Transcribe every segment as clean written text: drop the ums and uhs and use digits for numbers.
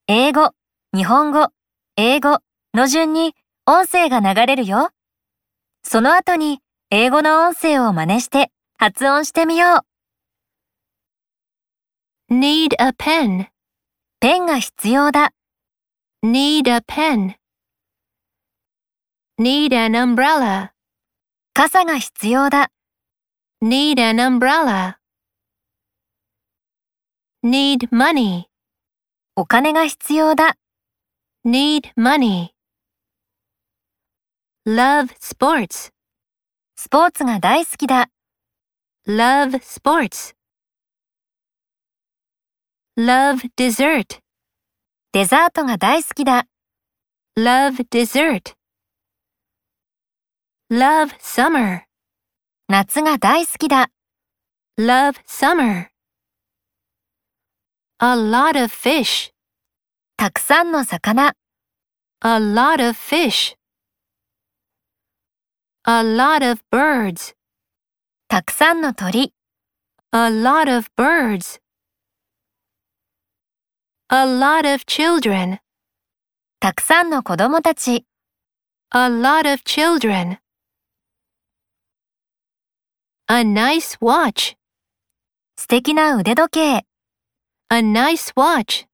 英語、日本語、英語の順に音声が流れるよ。その後に英語の音声を真似して発音してみよう。 Need a pen. ペンが必要だ。 Need a pen. Need an umbrella. 傘が必要だ。 Need an umbrella. Need money. お金が必要だ。 Need money. Love sports. スポーツが大好きだ。 Love sports. Love dessert. デザートが大好きだ。 Love dessert. Love summer. 夏が大好きだ。 Love summer. A lot of fish. たくさんの魚。 A lot of fish. A lot of birds. たくさんの鳥。 A lot of birds. A lot of children. たくさんの子供たち。 A lot of children. A nice watch. 素敵な腕時計。 A nice watch.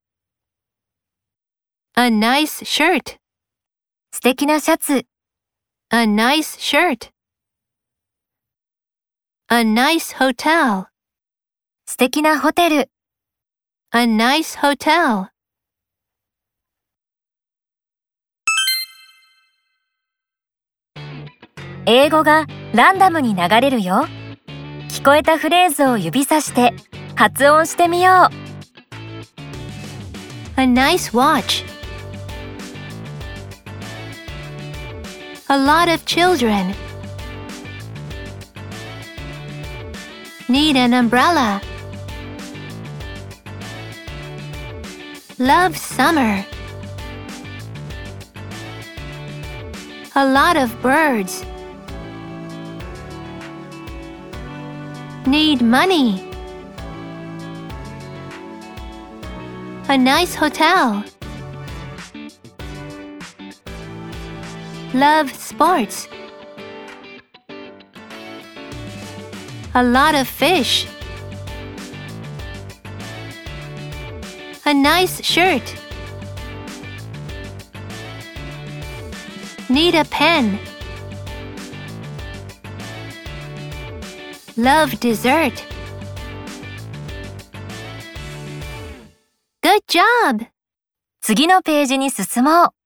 A nice shirt. 素敵なシャツ。 A nice shirt. A nice hotel. 素敵なホテル。 A nice hotel. 英語がランダムに流れるよ。聞こえたフレーズを指さして発音してみよう。 A nice watch. A lot of children. Need an umbrella. Love summer. A lot of birds. Need money. A nice hotel. Love sports. A lot of fish. A nice shirt. Need a pen. Love dessert. Good job! 次のページに進もう。